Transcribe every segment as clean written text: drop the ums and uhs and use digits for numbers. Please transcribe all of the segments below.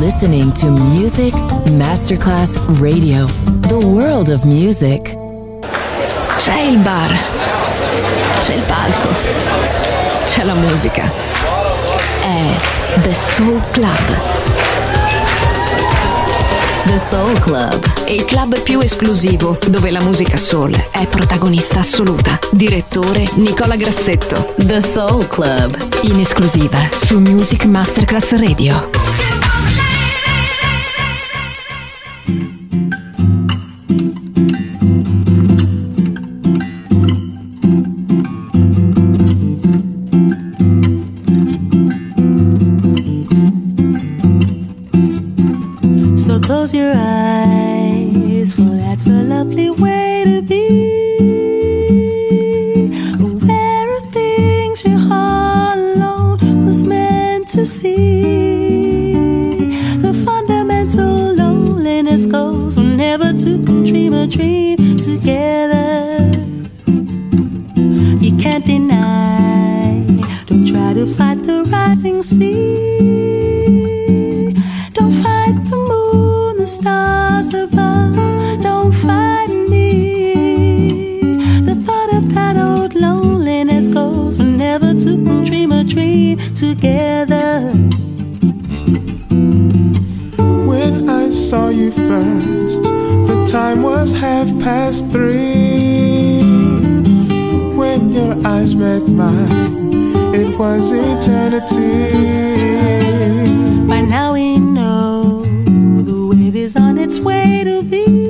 listening to Music Masterclass Radio, the world of music. C'è il bar, c'è il palco, c'è la musica. È The Soul Club. The Soul Club, il club più esclusivo dove la musica soul è protagonista assoluta. Direttore Nicola Grassetto. The Soul Club, In esclusiva su Music Masterclass Radio. Close your eyes, for that's a lovely way to be. Aware of things your heart alone was meant to see. The fundamental loneliness goes whenever two can dream a dream together. You can't deny, don't try to fight the rising sea. Don't fight the moon, the stars above, don't fight me. The thought of that old loneliness goes whenever two can dream a dream together. When I saw you first, the time was 3:30. When your eyes met mine, it was eternity. By now we know the wave is on its way to be.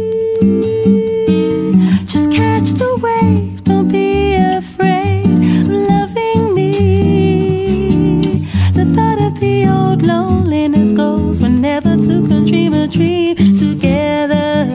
Just catch the wave, don't be afraid of loving me. The thought of the old loneliness goes whenever two can dream a dream together.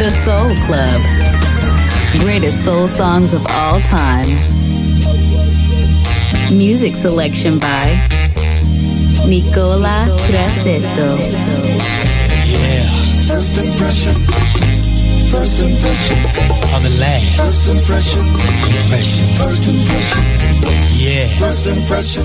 The Soul Club. Greatest soul songs of all time. Music selection by Nicola Grassetto. Yeah. First impression. First impression. On the last. First impression. Impression. First impression. Yeah. First impression.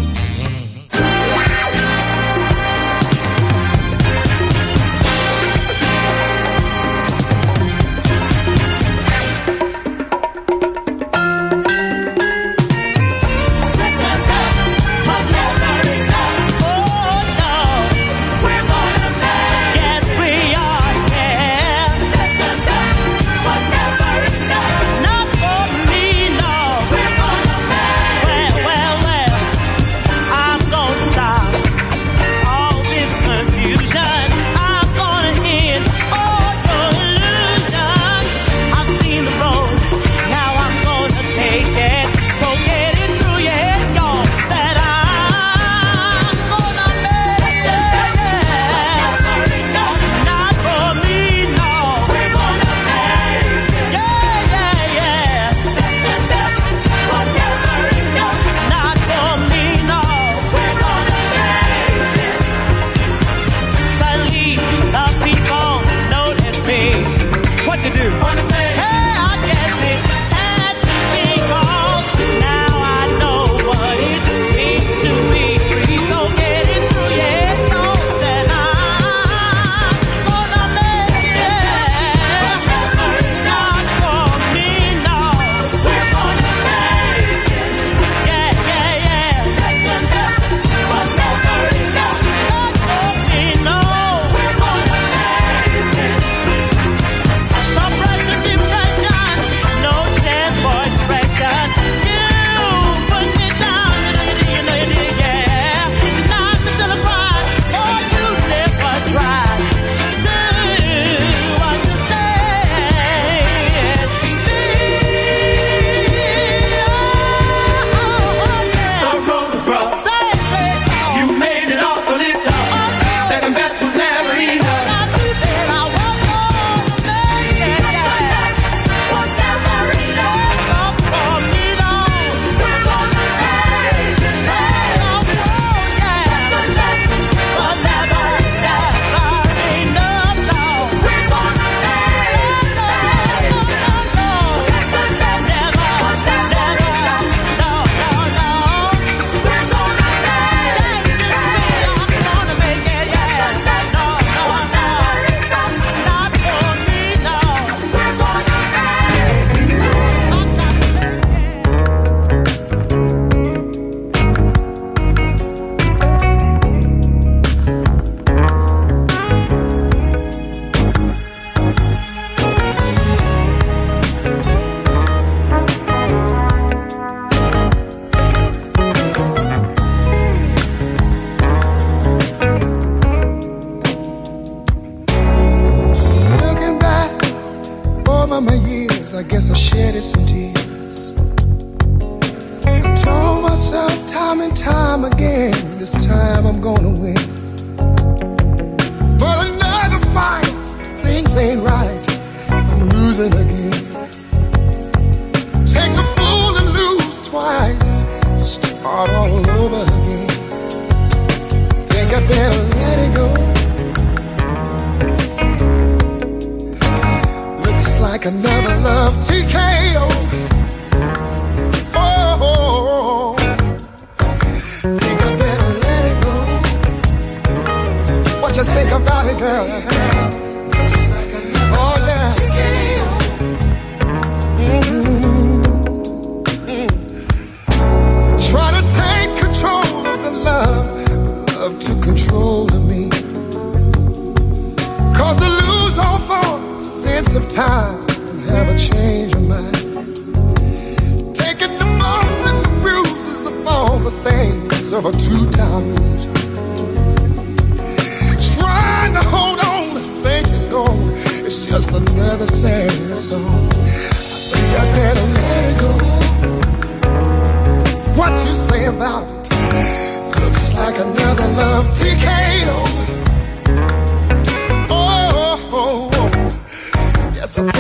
Yes, I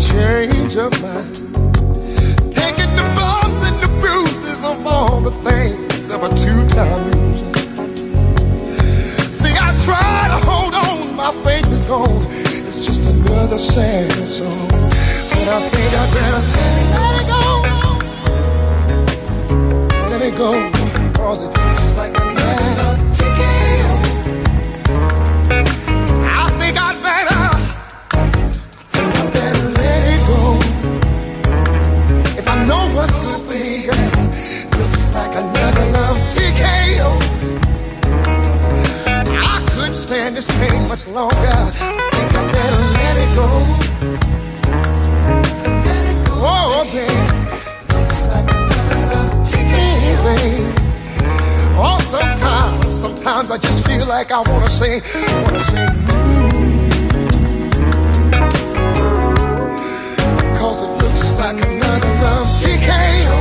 change of mind. Taking the bumps and the bruises of all the things of a two-time loser. See, I try to hold on, my faith is gone. It's just another sad song. But I think I better let it go. Let it go, cause it's like another love ticket. I think I better let it go. If I know what's good for me, looks like another love TKO. I couldn't stand this pain much longer. I think I better let it go. Let it go. Oh, baby. Looks like another love TKO, baby. Oh, sometimes I just feel like I wanna say, Cause it looks like another love TKO.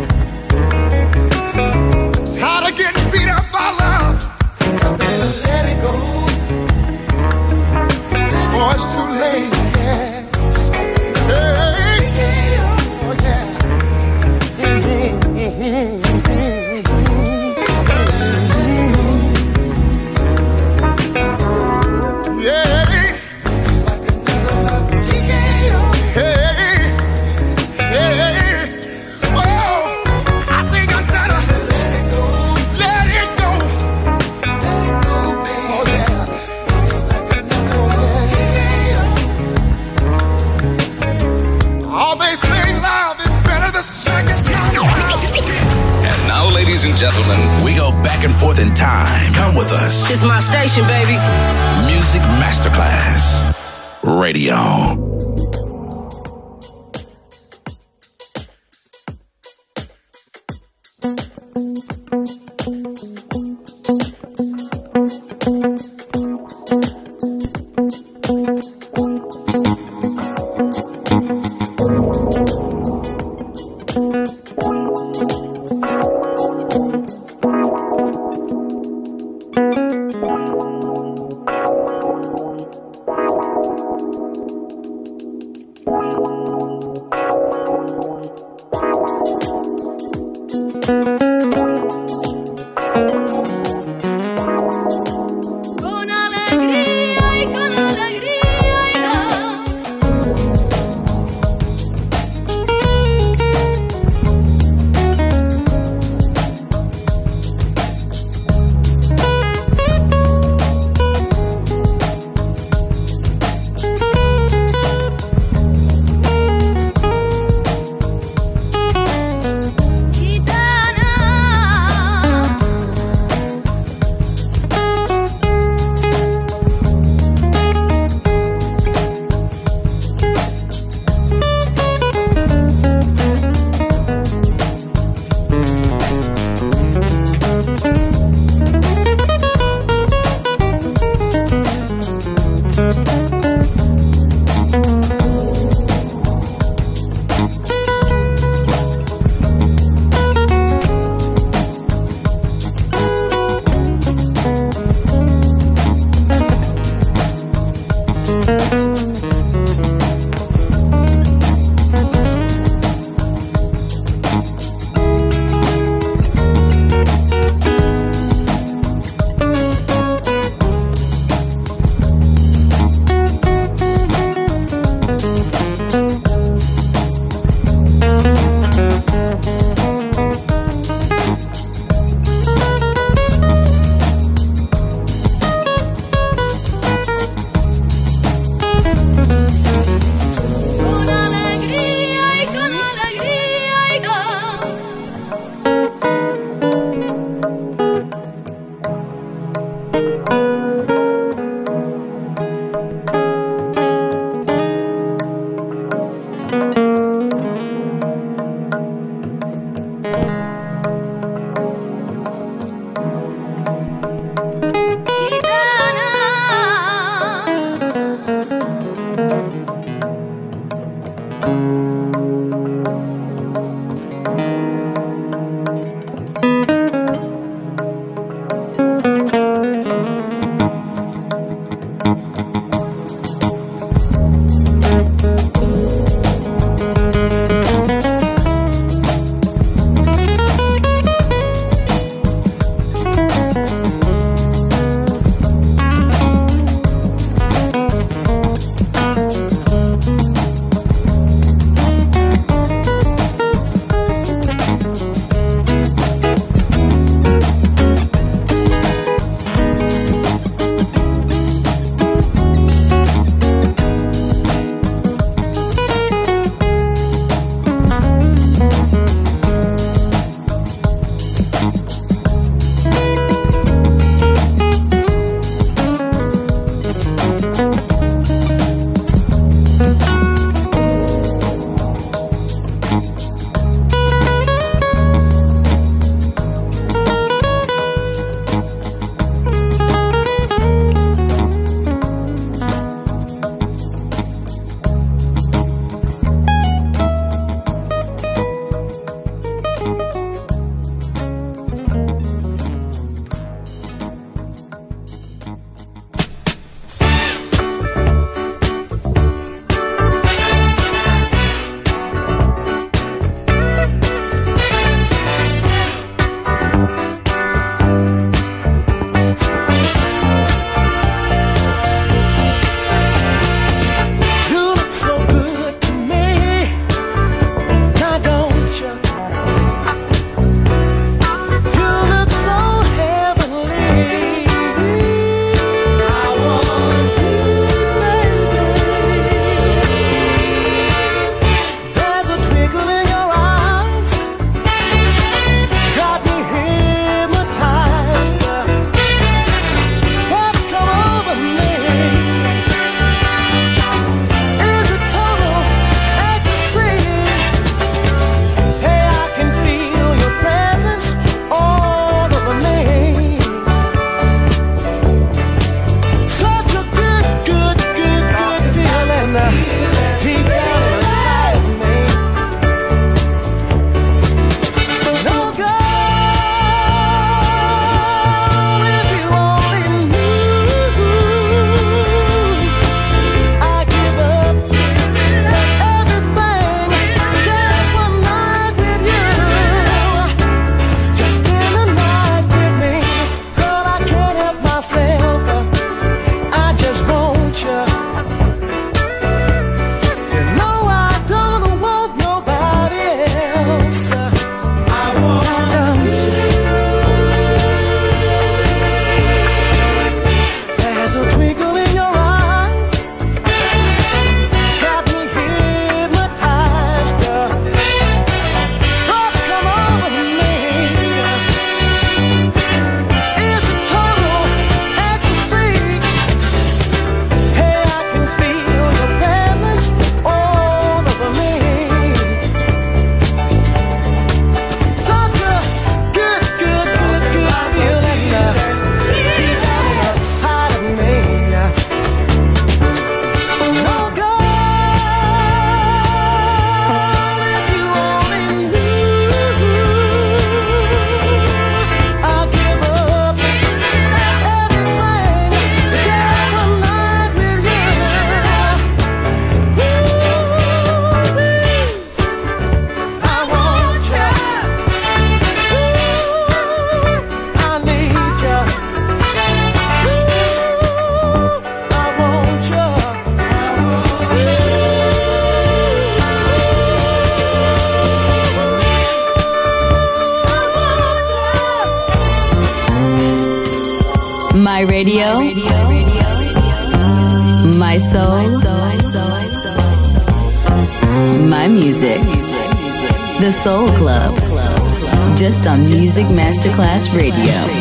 I'm tired of getting beat up by love. I better let it go. Oh, it's too late, yeah. Hey, oh, yeah. Ladies and gentlemen, we go back and forth in time. Come with us. It's my station, baby. Music Masterclass Radio. My radio, my soul, my music. The Soul Club. Just on Music Masterclass Radio.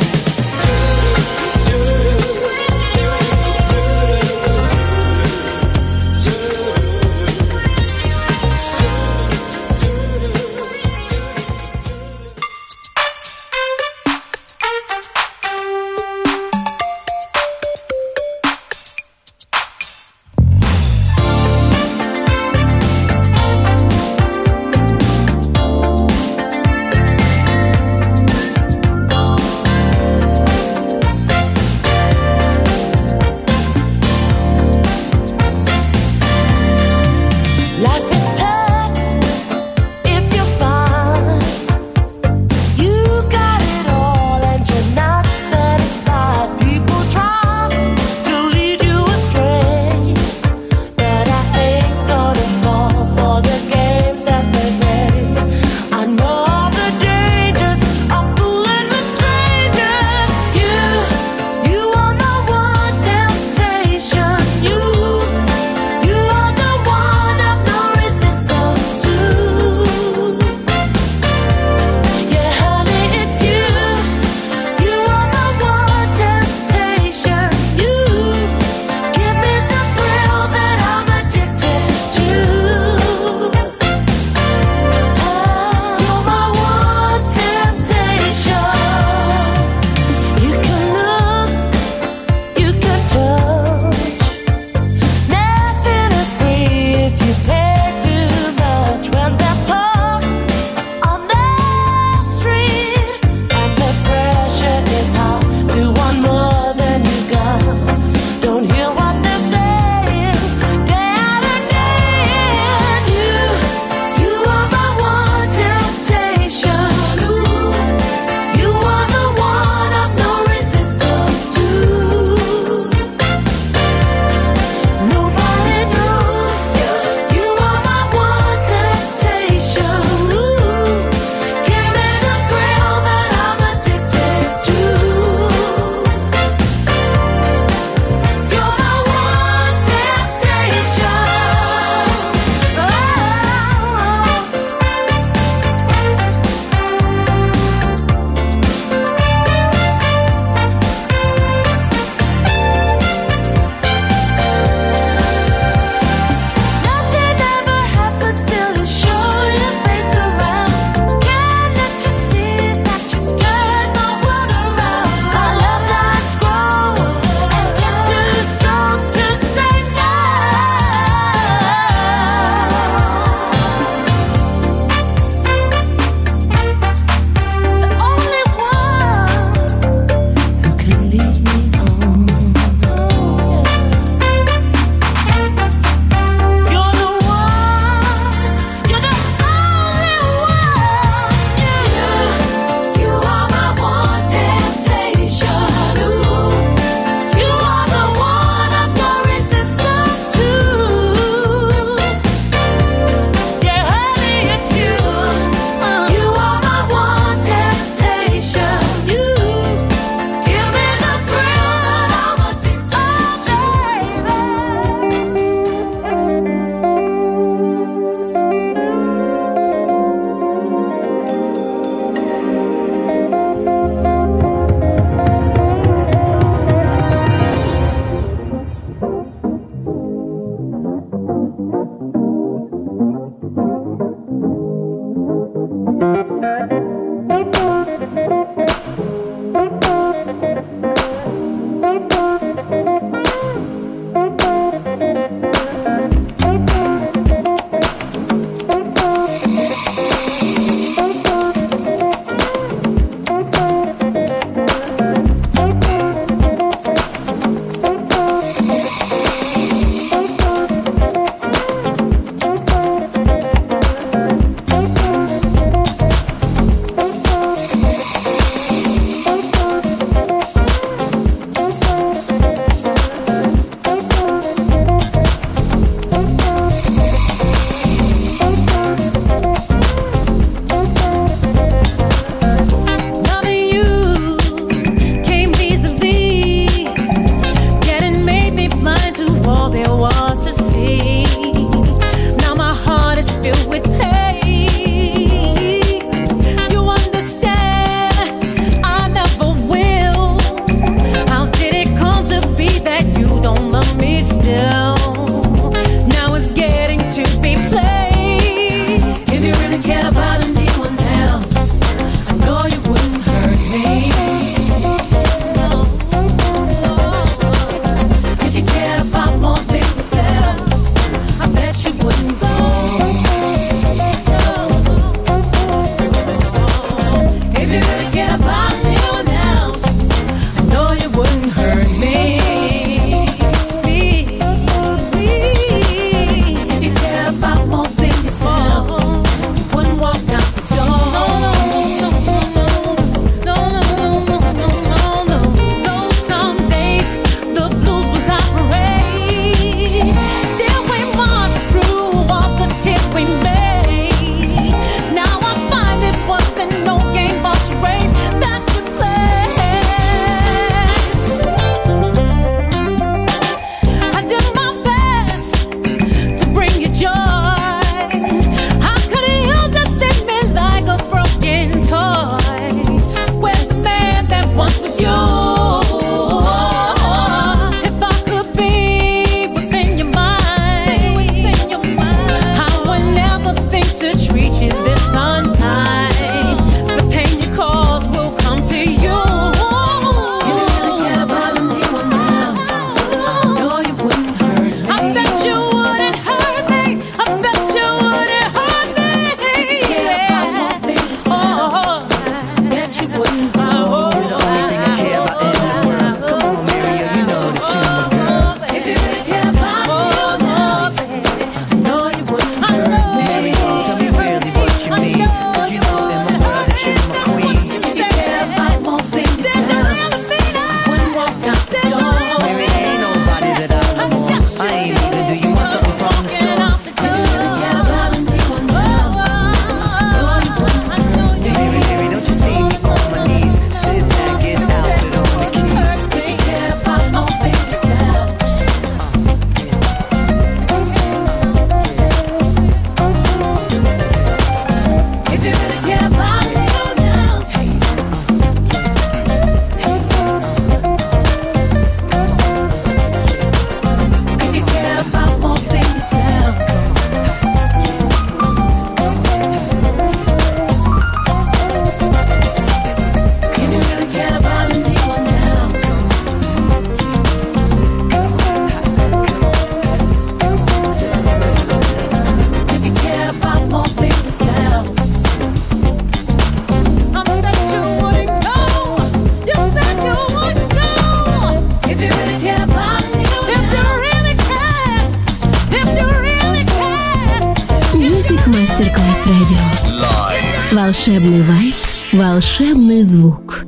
Волшебный вайб, волшебный звук.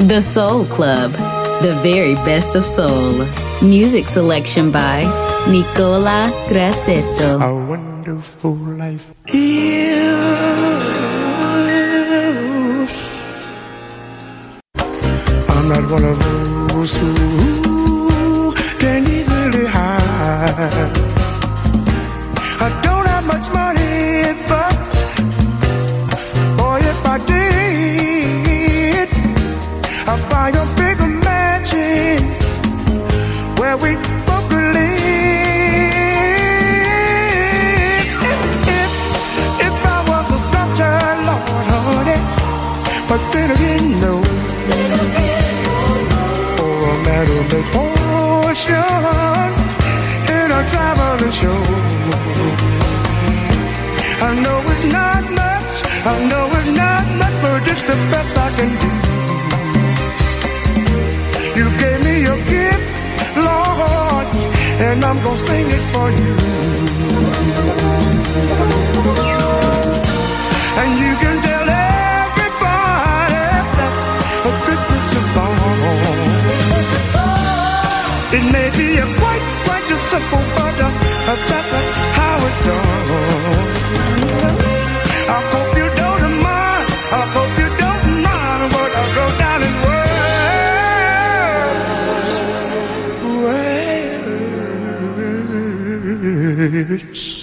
The Soul Club, the very best of soul. Music selection by Nicola Grassetto. A wonderful life is. I'm not one of those who can easily hide. I don't have much money, but boy, if I did, I'd buy a bigger mansion where we both could live. If I was a sculptor, Lord, honey, but then again, no. Or a man who makes potions in a traveling show. I know it's not much, I know it's not much, but it's the best I can do. You gave me your gift, Lord, and I'm gonna sing it for you. And you can tell everybody that this is your song. It may be a quite a simple, but that's how it's done. I hope you don't mind, I hope you don't mind what I wrote down in words.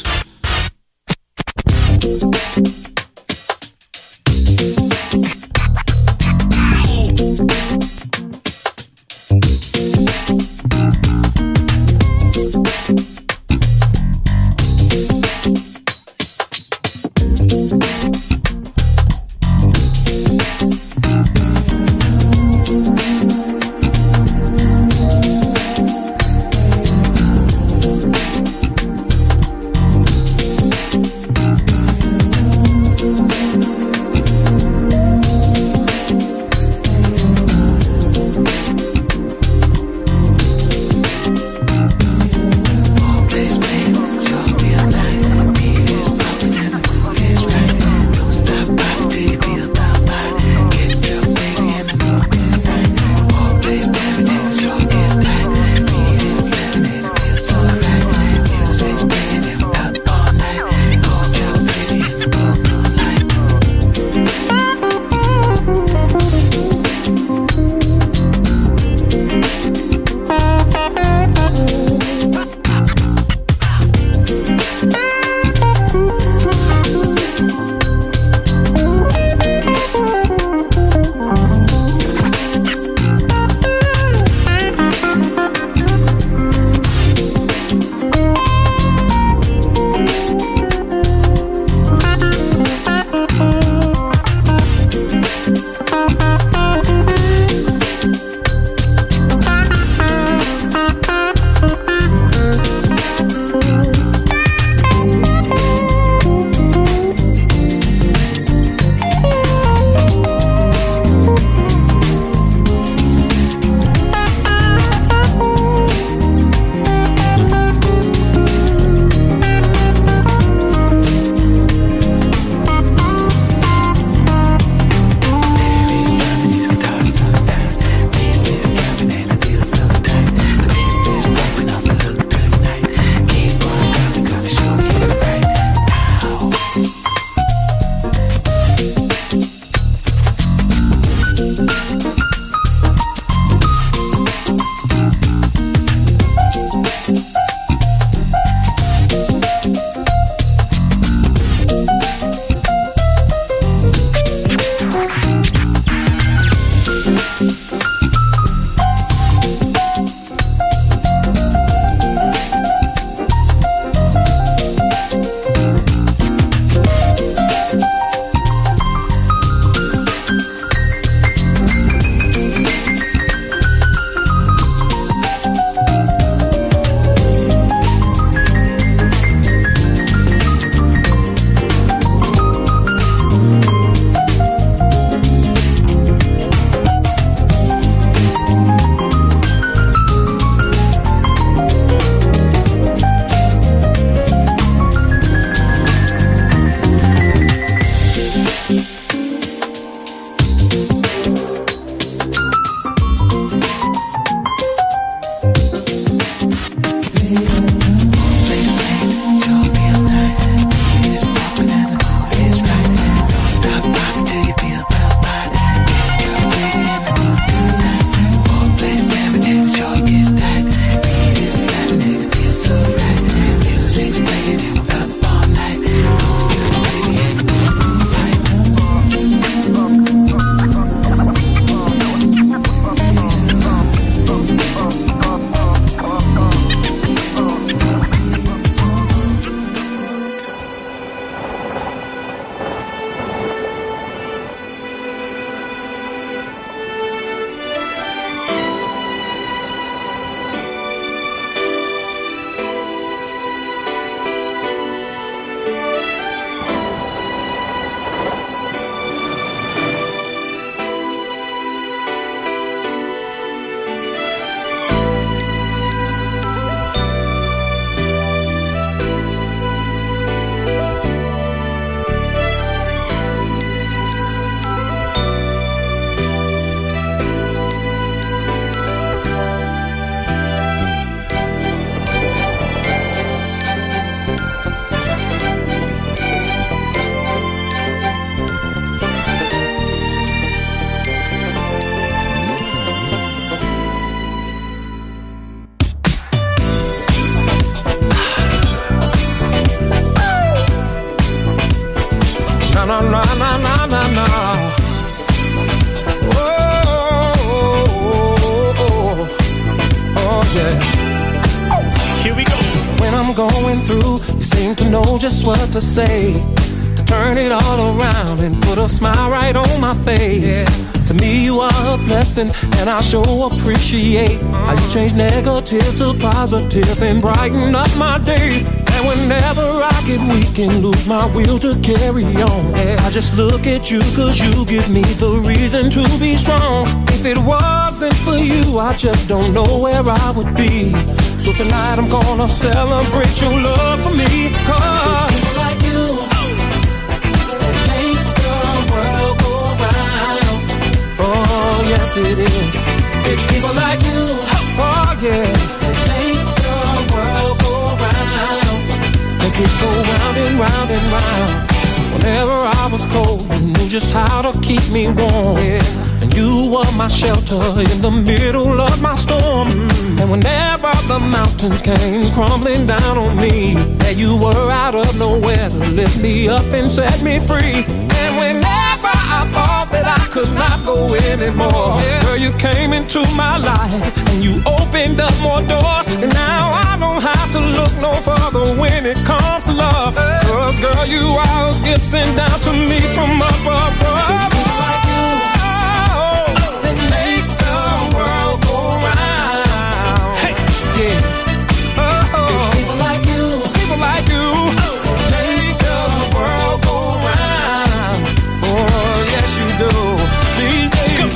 You seem to know just what to say, to turn it all around and put a smile right on my face. To me you are a blessing, and I sure appreciate how you change negative to positive and brighten up my day. And whenever I get weak and lose my will to carry on, I just look at you, cause you give me the reason to be strong. If it wasn't for you, I just don't know where I would be. So tonight I'm gonna celebrate your love for me, cause it's people like you that make the world go round. Oh yes it is. It's people like you, oh yeah, that make the world go round. Make it go round and round and round. Whenever I was cold, you knew just how to keep me warm. And you were my shelter in the middle of my storm. And whenever the mountains came crumbling down on me, there you were out of nowhere to lift me up and set me free. And whenever I thought that I could not go anymore, girl, you came into my life and you opened up more doors. And now I don't have to look no further when it comes to love, cause girl, you are a gift sent down to me from up above. It's people like you that make the world go round. Hey, yeah. It's people like you. It's people like you that make the world go round. Oh yes you do. These days,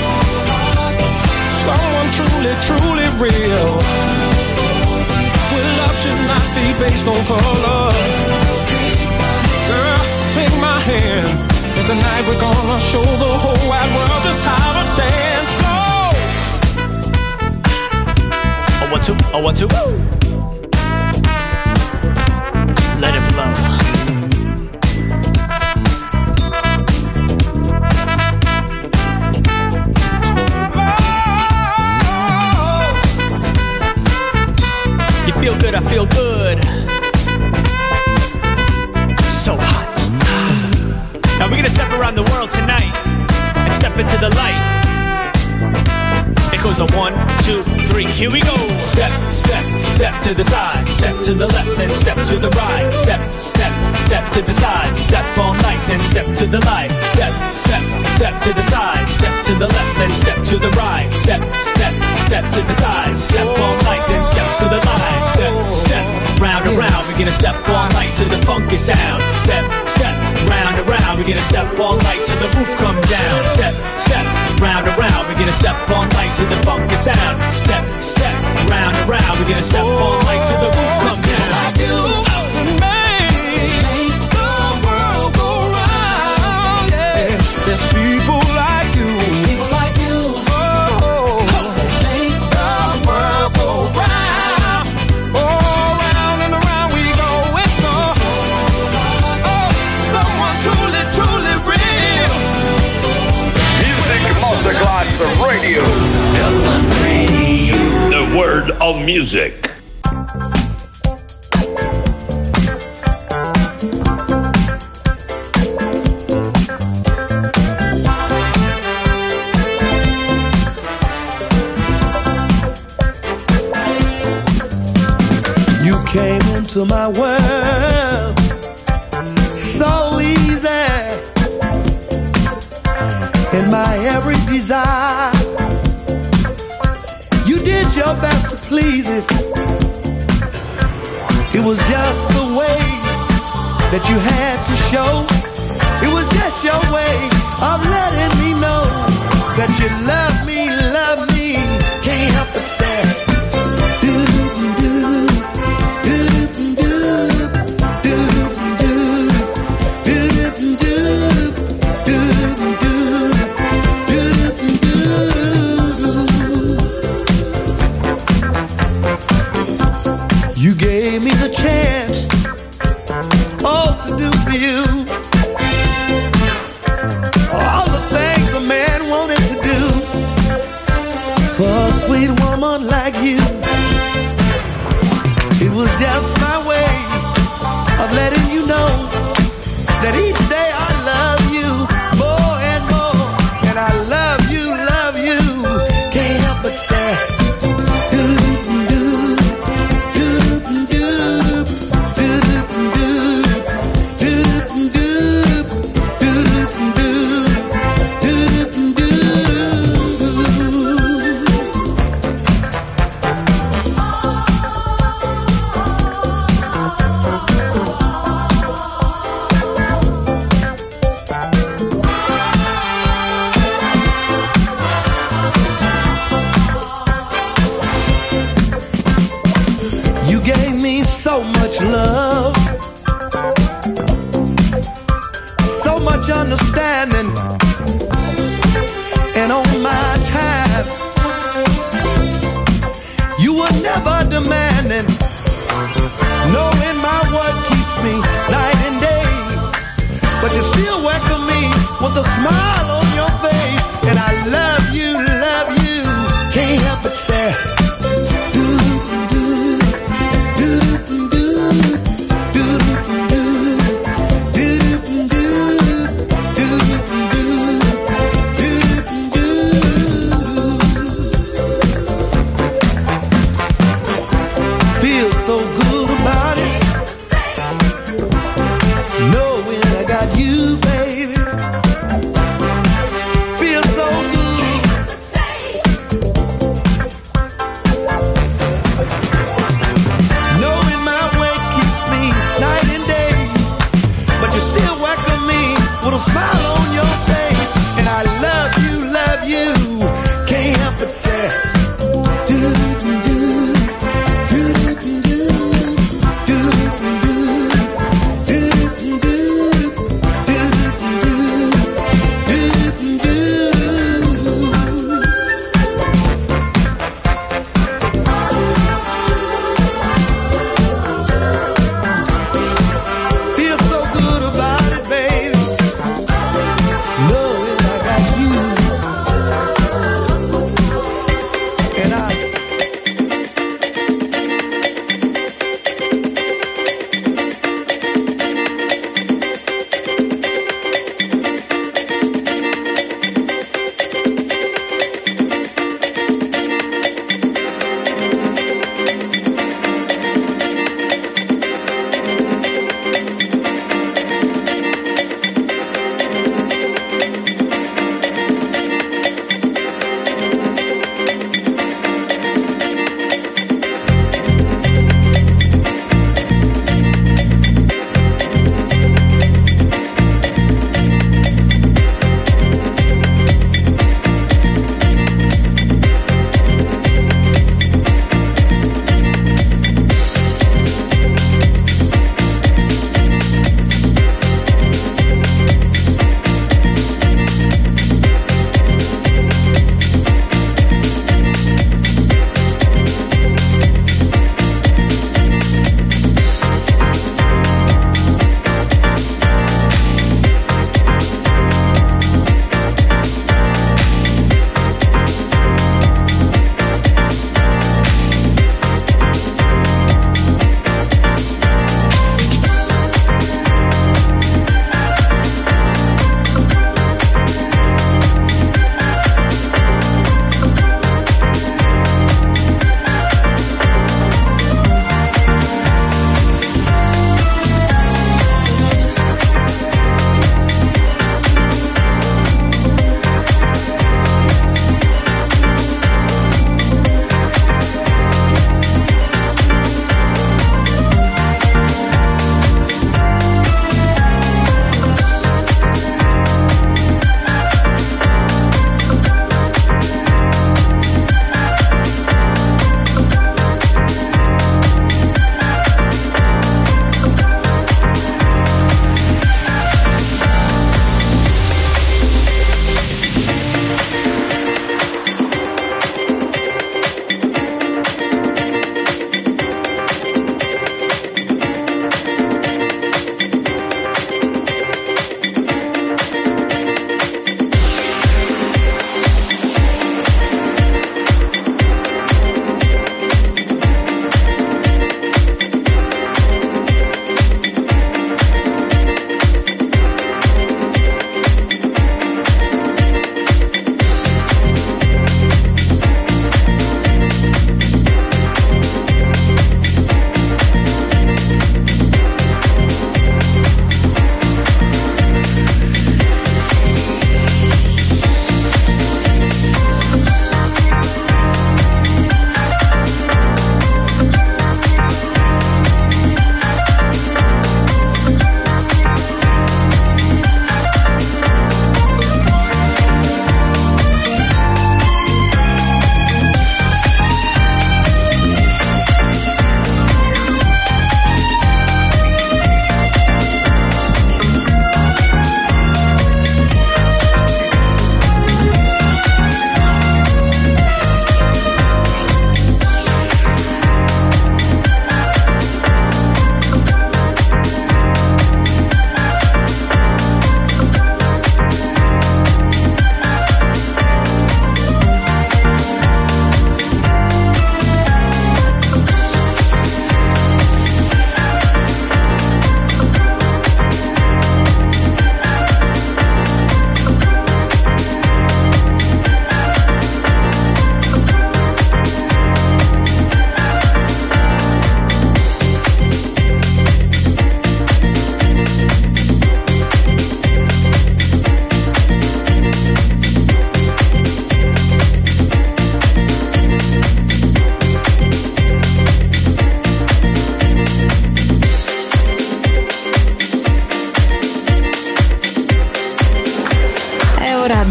someone truly, truly real. Well, love should not be based on color. Girl, take my hand, and tonight we're gonna show the whole wide world just how to dance. Go! Oh, 1, 2, oh, 1, 2. Let it blow. You feel good, I feel good. So hot. Now we're gonna step around the world tonight and step into the light. It goes on 1, 2, 3, here we go. Step, step, step to the side. Step to the left, then step to the right. Step, step, step to the side. Step all night, then step to the light. Step, step, step to the side. Step to the left, then step to the right. Step, step, step to the side. Step all night, then step to the light. Step, step, round and round. We're gonna step all night to the funky sound. Step, step, round and round. We're gonna step all night till the roof come down. Step, step, round and round. We're gonna step all night to the funky sound. Step, step, round and round. We're gonna step all night till the roof come down. Like you and make the world go round. Yeah, there's people like you. There's people like you. Oh, that make the world go round. Oh, round and around we go. It's someone truly, truly real. Music Masterclass Radio. The word of music. You came into my world so easy, in my every desire. You did your best to please it. It was just the way that you had to show. It was just your way of letting me know that you love me, can't help but say. You gave me the chance, to do for you all the things a man wanted to do. and on my time. You were never demanding, knowing my word keeps me night and day. But you still welcome me with a smile on your face. And I love you, can't help but say,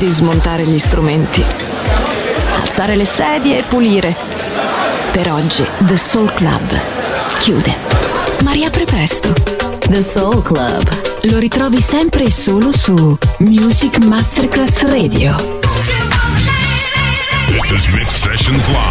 di smontare gli strumenti, alzare le sedie e pulire. Per oggi The Soul Club chiude, ma riapre presto. The Soul Club. Lo ritrovi sempre e solo su Music Masterclass Radio. This is Mix Sessions Live.